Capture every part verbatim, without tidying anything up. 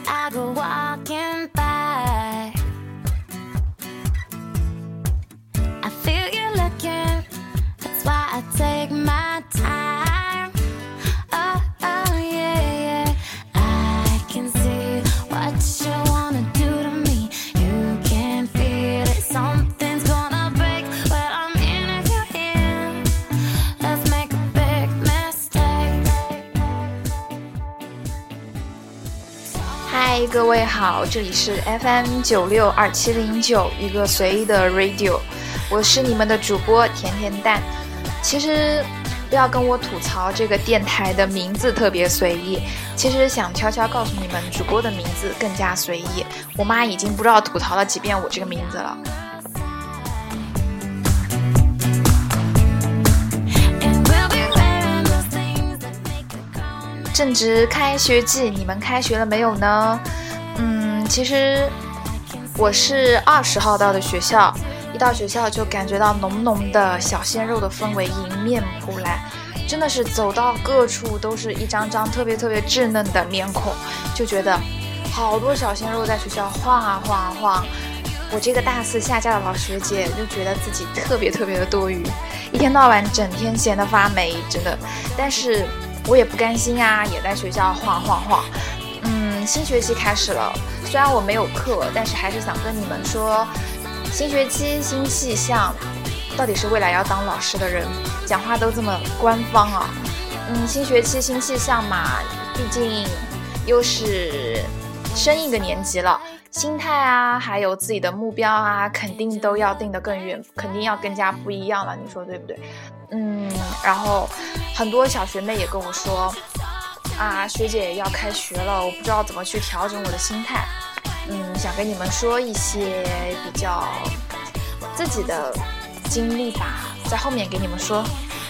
I go walking by. I feel you looking, that's why I take my time. Oh, oh, yeah, yeah. I can see what you wanna do to me. You can feel it, something's gonna break when I'm in your hand. Let's make a big mistake. 嗨，各位好，这里是 F M 九六二七零九一个随意的 radio， 我是你们的主播甜甜蛋。其实不要跟我吐槽这个电台的名字特别随意，其实想悄悄告诉你们，主播的名字更加随意。我妈已经不知道吐槽了几遍我这个名字了。正值开学季，你们开学了没有呢？嗯，其实我是二十号到的学校，一到学校就感觉到浓浓的小鲜肉的氛围迎面扑来，真的是走到各处都是一张张特别特别稚嫩的面孔，就觉得好多小鲜肉在学校晃啊晃啊晃。我这个大四下架的老学姐就觉得自己特别特别的多余，一天到晚整天闲得发霉，真的。但是我也不甘心啊，也在学校晃晃晃。嗯，新学期开始了，虽然我没有课，但是还是想跟你们说，新学期新气象，到底是未来要当老师的人讲话都这么官方啊。嗯，新学期新气象嘛，毕竟又是升一个年级了，心态啊还有自己的目标啊肯定都要定得更远，肯定要更加不一样了，你说对不对？嗯，然后很多小学妹也跟我说啊，学姐要开学了，我不知道怎么去调整我的心态。嗯，想跟你们说一些比较自己的经历吧，在后面给你们说。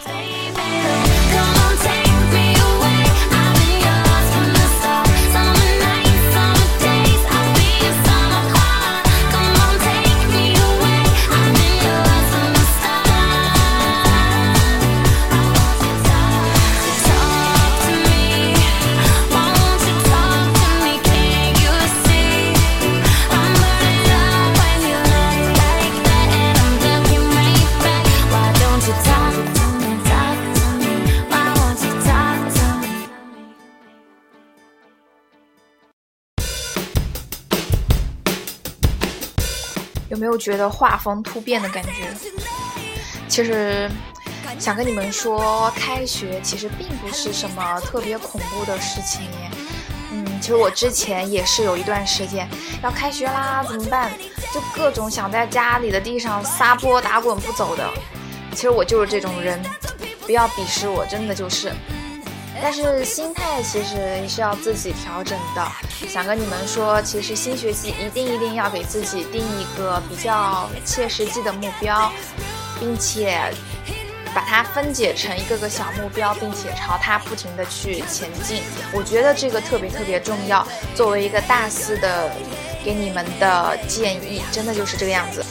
有没有觉得画风突变的感觉？其实想跟你们说，开学其实并不是什么特别恐怖的事情。嗯，其实我之前也是有一段时间要开学啦怎么办，就各种想在家里的地上撒泼打滚不走的。其实我就是这种人，不要鄙视我，真的就是。但是心态其实也是要自己调整的。想跟你们说，其实新学期一定一定要给自己定一个比较切实际的目标，并且把它分解成一个个小目标，并且朝它不停的去前进。我觉得这个特别特别重要。作为一个大四的，给你们的建议，真的就是这个样子。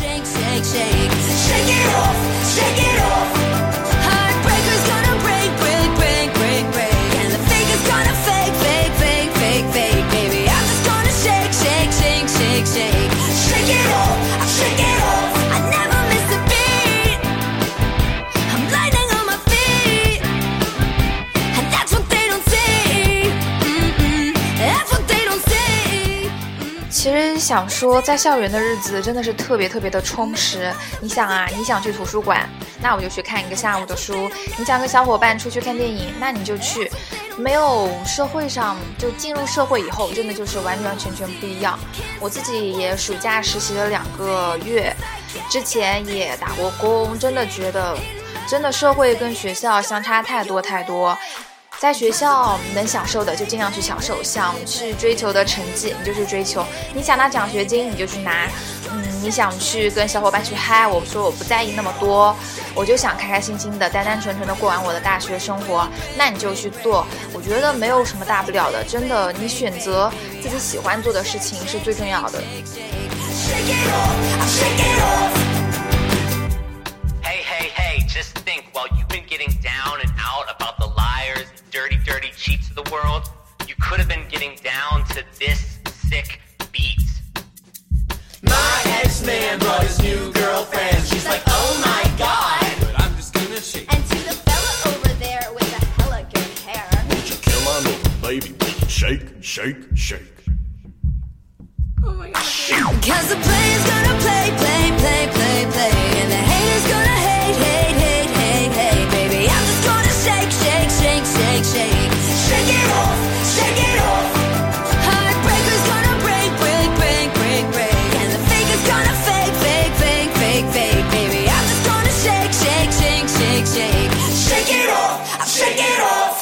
其实想说，在校园的日子真的是特别特别的充实。你想啊，你想去图书馆，那我就去看一个下午的书；你想跟小伙伴出去看电影，那你就去。没有社会上，就进入社会以后，真的就是完完全全不一样。我自己也暑假实习了两个月，之前也打过工，真的觉得，真的社会跟学校相差太多太多。在学校能享受的就尽量去享受，想去追求的成绩你就去追求，你想拿奖学金你就去拿，嗯，你想去跟小伙伴去嗨，我说我不在意那么多，我就想开开心心的单单纯纯的过完我的大学生活，那你就去做，我觉得没有什么大不了的，真的，你选择自己喜欢做的事情是最重要的。 Hey, hey, hey, just think, while you've been getting down and out about the liars, dirty, dirty cheats of the world, you could have been getting down to this sick beat. My ex-man brought his new girlfriend. She's like, oh my god. But I'm just gonna shake. And to the fella over there with the hella good hair. Won't you come on over, baby? Shake, shake, shake. Oh my god. Cause the player's gonna play, play, play, play, play. And the haters gonna hate, hate, hate, hate, hate. Baby, I'm just gonna shake, shake, shake, shake, shake. Shake it off, shake it off. Heartbreaker's gonna break, break, break, break, break. And the faker's gonna fake, fake, fake, fake, fake. Baby, I'm just gonna shake, shake, shake, shake, shake. Shake it off, shake it off.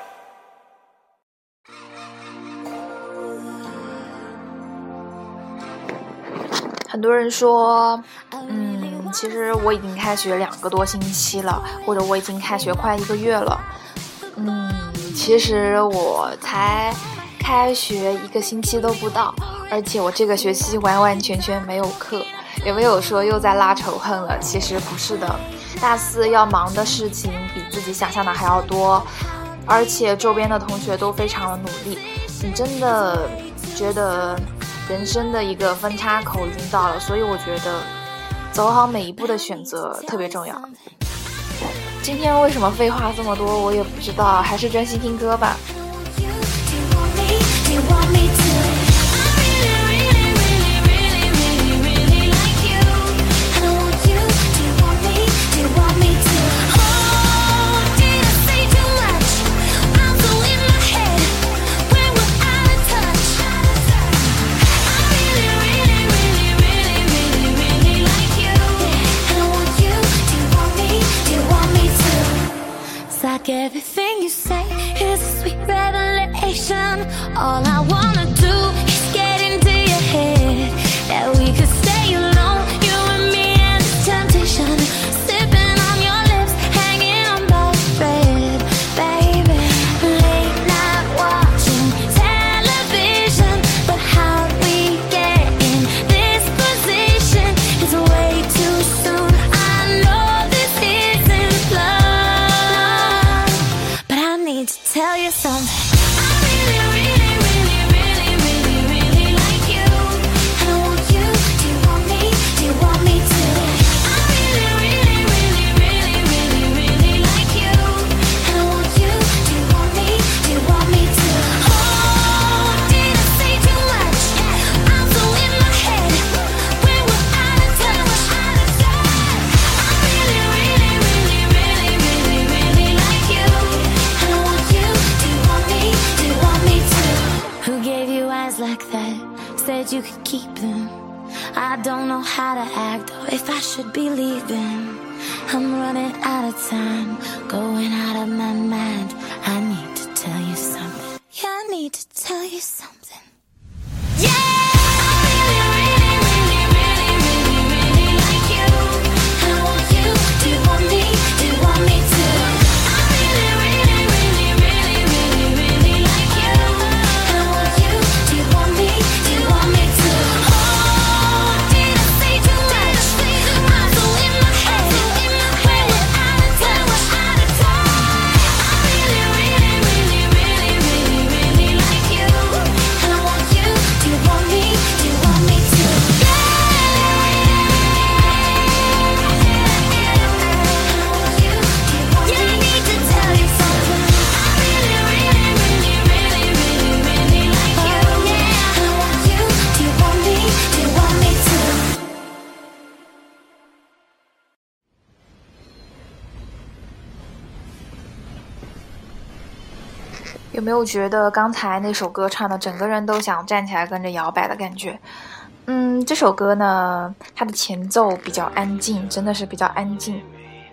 很多人说，嗯，其实我已经开学两个多星期了，或者我已经开学快一个月了。嗯，其实我才开学一个星期都不到，而且我这个学期完完全全没有课。有没有说又在拉仇恨了？其实不是的，大四要忙的事情比自己想象的还要多，而且周边的同学都非常的努力。你真的觉得人生的一个分叉口已经到了，所以我觉得走好每一步的选择特别重要。今天为什么废话这么多我也不知道，还是专心听歌吧。 Everything you say is a sweet revelation. All I wanna do is get into your head. That we could stay alone, you and me and this temptation. Sipping on your lips, hanging on by a thread, baby. Late night watching television, but how we get in this position is way too soon. I know this isn't love, I need to tell you something. I really, really, really, really, really, really like you. And I want you, do you want me, do you want me to? I really, really, really, really, really, really like you. And I want you, do you want me, do you want me to? Oh, did I say too much? I'm so in my head. When we're out of touch, out of touch. I really, really, really, really, really, really like you. Who gave you eyes like that? Said you could keep them. I don't know how to act or if I should be leaving. I'm running out of time, going out of my mind. I need to tell you something. Yeah, I need to tell you something. Yeah! 有没有觉得刚才那首歌唱的整个人都想站起来跟着摇摆的感觉？嗯，这首歌呢，它的前奏比较安静，真的是比较安静。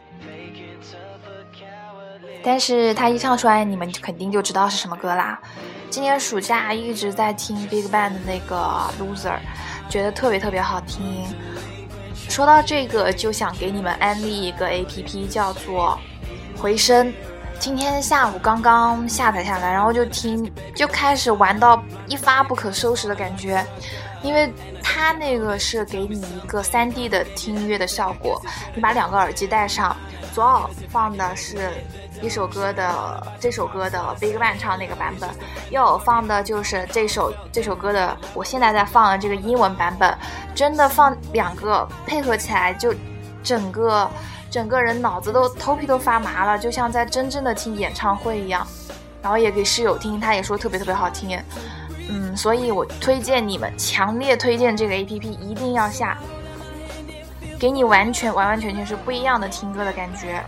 但是它一唱出来，你们肯定就知道是什么歌啦。今年暑假一直在听 BigBang 的那个 Loser， 觉得特别特别好听。说到这个，就想给你们安利一个 A P P， 叫做回声。今天下午刚刚下载下来，然后就听，就开始玩到一发不可收拾的感觉。因为它那个是给你一个 三 D 的听音乐的效果，你把两个耳机戴上，左耳放的是一首歌的这首歌的 BigBang 唱那个版本，又有放的就是这首这首歌的我现在在放的这个英文版本，真的放两个配合起来就整个整个人脑子都头皮都发麻了，就像在真正的听演唱会一样。然后也给室友听，他也说特别特别好听。嗯，所以我推荐你们，强烈推荐这个 A P P 一定要下，给你完全完完全全是不一样的听歌的感觉。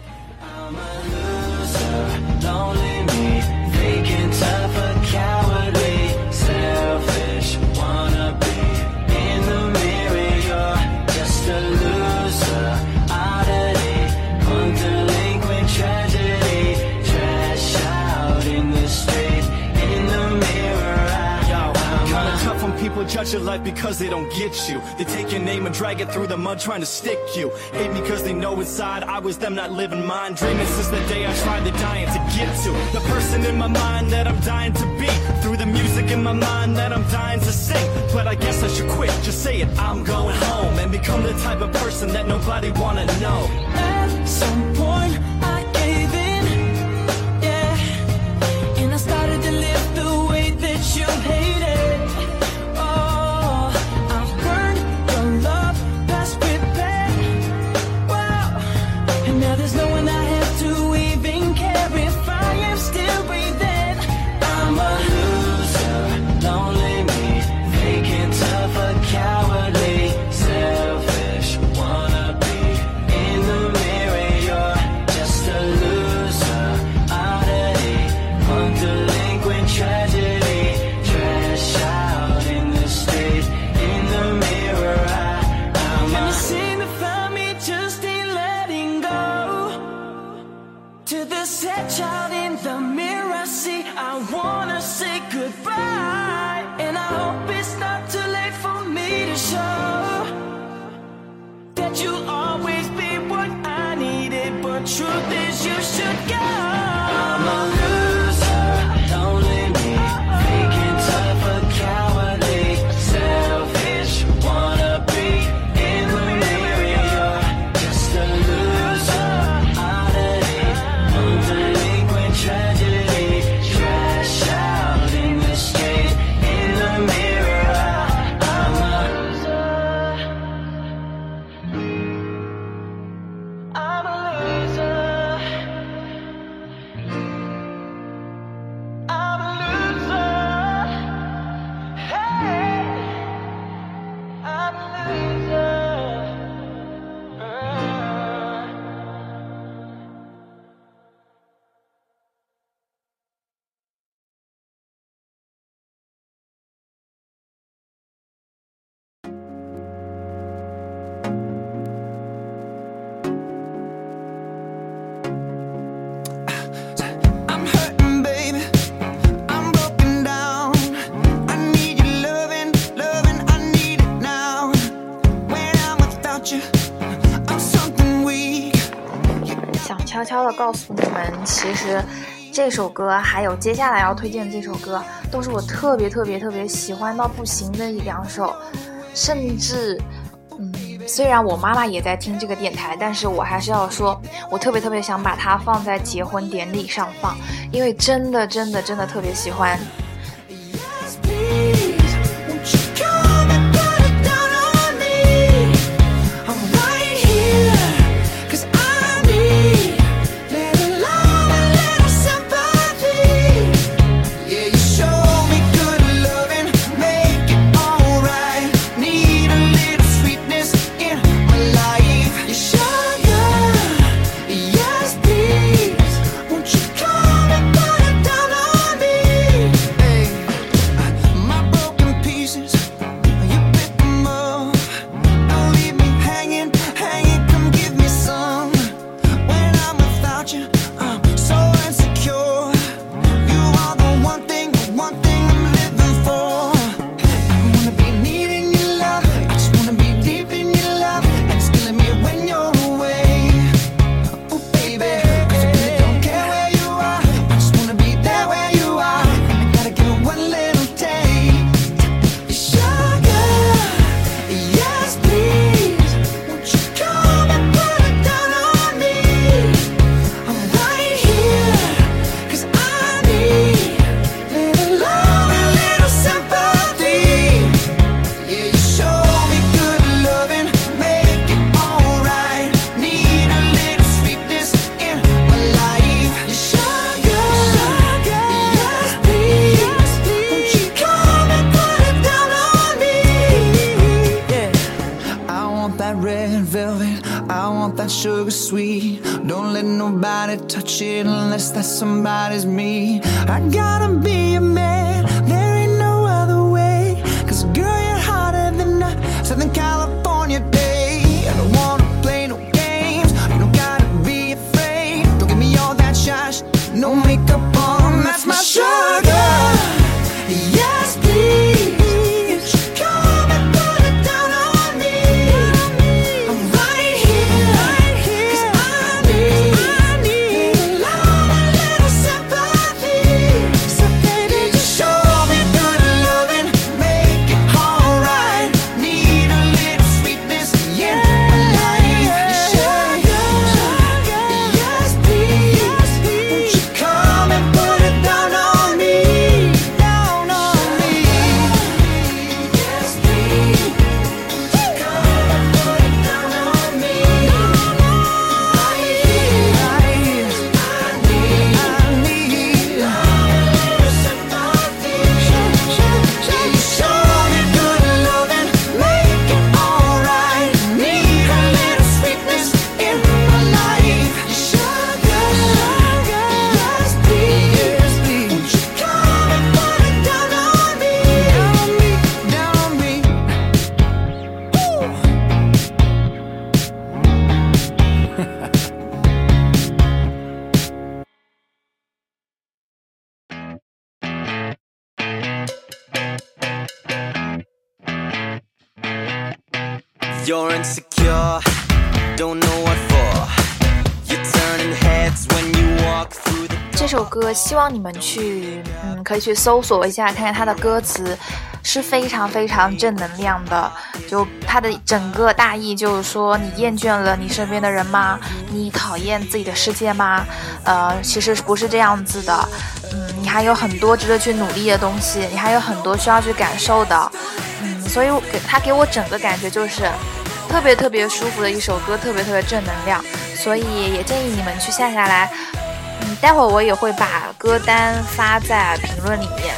People judge your life because they don't get you. They take your name and drag it through the mud trying to stick you. Hate me because they know inside I was them not living mine. Dreaming since the day I tried to dying to get to the person in my mind that I'm dying to be. Through the music in my mind that I'm dying to sing. But I guess I should quit, just say it, I'm going home. And become the type of person that nobody wanna know. At some point I gave in, yeah. And I started to live the way that you hated. Truth is you should go. I'm a loser, lonely me, faking tough or cowardly, selfish, wanna be in the mirror. You're just a loser, oddity, delinquent tragedy, trash out in the street, in the mirror. I'm a loser, I'm a loser. 想悄悄的告诉你们，其实这首歌还有接下来要推荐的这首歌，都是我特别特别特别喜欢到不行的一两首，甚至嗯，虽然我妈妈也在听这个电台，但是我还是要说，我特别特别想把它放在结婚典礼上放，因为真的真的真的特别喜欢。 Hey that sugar sweet. Don't let nobody touch it unless that somebody's me. I gotta be a man, there ain't no other way. Cause girl, you're hotter than a Southern California day. I don't wanna play no games, you don't gotta be afraid. Don't give me all that shy, no makeup on, that's my sugar. Yes, please. You're insecure, don't know what for. You're turning heads when you walk through the 这首歌希望你们去嗯可以去搜索一下，看看它的歌词是非常非常正能量的。就它的整个大意就是说，你厌倦了你身边的人吗？你讨厌自己的世界吗？呃，其实不是这样子的。嗯，你还有很多值得去努力的东西，你还有很多需要去感受的。嗯，所以给它给我整个感觉就是特别特别舒服的一首歌，特别特别正能量。所以也建议你们去下下来。嗯，待会儿我也会把歌单发在评论里面。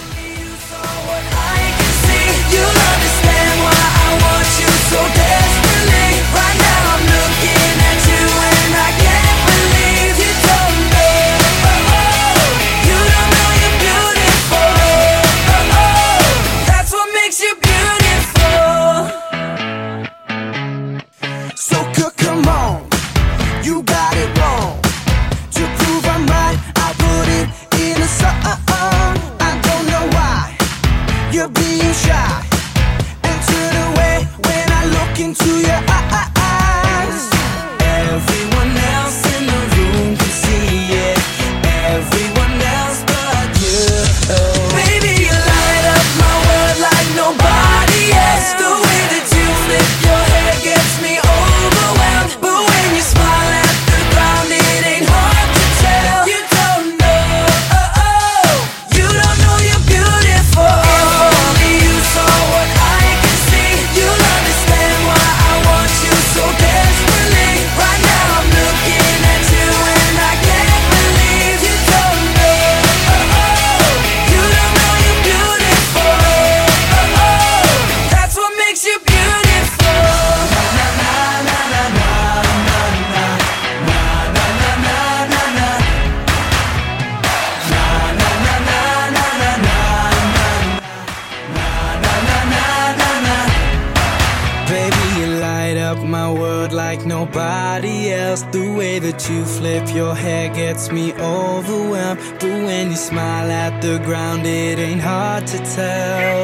Nobody else, the way that you flip your hair gets me overwhelmed. But when you smile at the ground, it ain't hard to tell.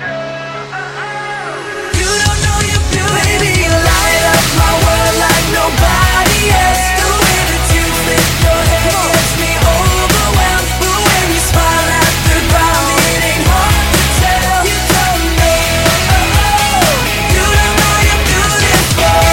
You don't know you're beautiful. Baby, you light up my world like nobody else. The way that you flip your hair gets me overwhelmed. But when you smile at the ground, it ain't hard to tell. You don't know, you don't know you're beautiful.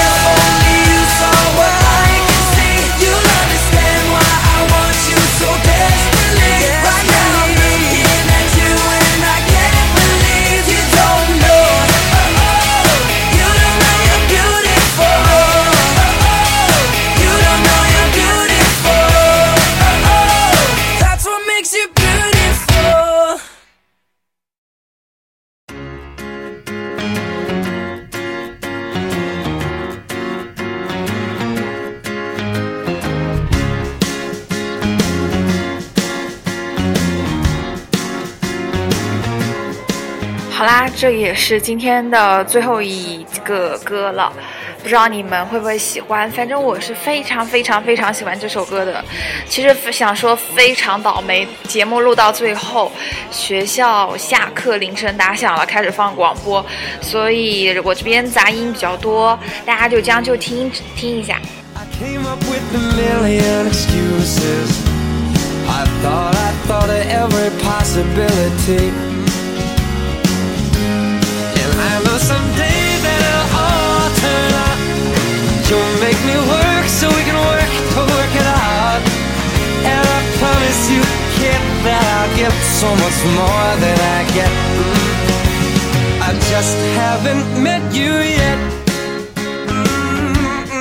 好啦，这也是今天的最后一个歌了，不知道你们会不会喜欢，反正我是非常非常非常喜欢这首歌的。其实想说非常倒霉，节目录到最后，学校下课铃声打响了，开始放广播，所以我这边杂音比较多，大家就将就听听一下。 Came up with a million excuses. I thought, I thought of every possibility. And I know someday that it'll all turn out. You'll make me work so we can work to work it out. And I promise you, kid, that I'll give so much more than I get. I just haven't met you yet. Mm-mm.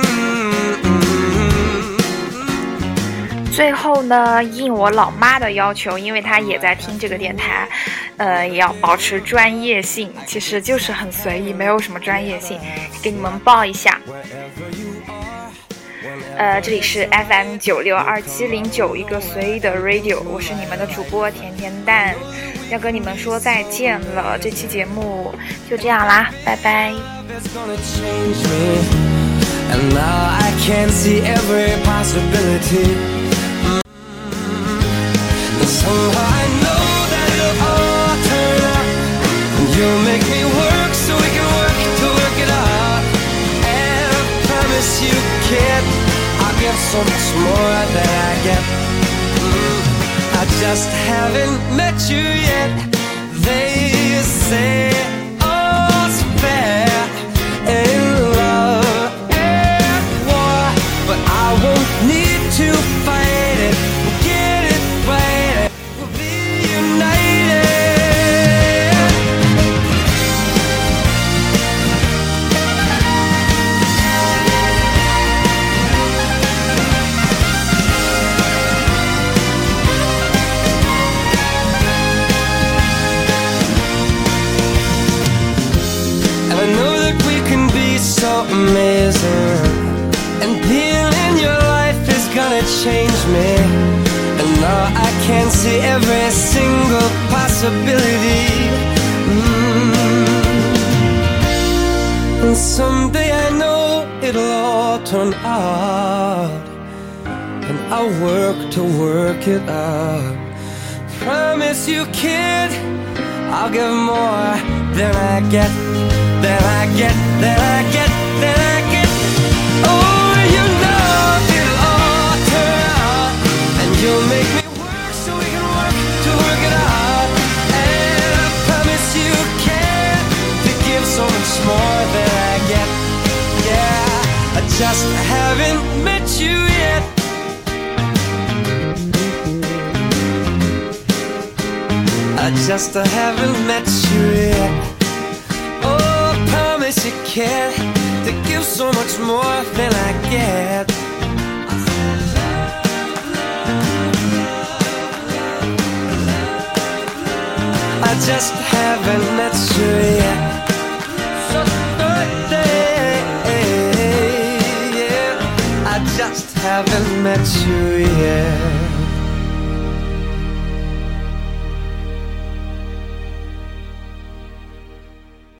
最后呢，应我老妈的要求，因为她也在听这个电台，呃，也要保持专业性，其实就是很随意，没有什么专业性，给你们报一下。呃，这里是 F M 九六二七零九，一个随意的 radio， 我是你们的主播甜甜蛋，要跟你们说再见了。这期节目就这样啦，拜拜。 And now I can see every possibility. And somehow I know that it'll all turn out. And you'll make me work so we can work to work it out. And I promise you, kid, I'll give so much more than I get. Mm, I just haven't met you yet. They say all's fair in love, but I won't need to fight it. We'll get it right. We'll be united. And I know that we can be so amazing. And being in your life is gonna change me. And now I can see every single possibility. Mm. And someday I know it'll all turn out. And I'll work to work it out. Promise you, kid, I'll give more than I get, than I get, than I get, than I get. Oh, you know it'll all turn out. And you'll make me work so we can work to work it out. And I promise you can to give so much more than I get. Yeah, I just haven't met you yet. I just haven't met you yet. Oh, I promise you can to give so much more than I get. I just haven't met you yet. So birthday, yeah. I just haven't met you yet.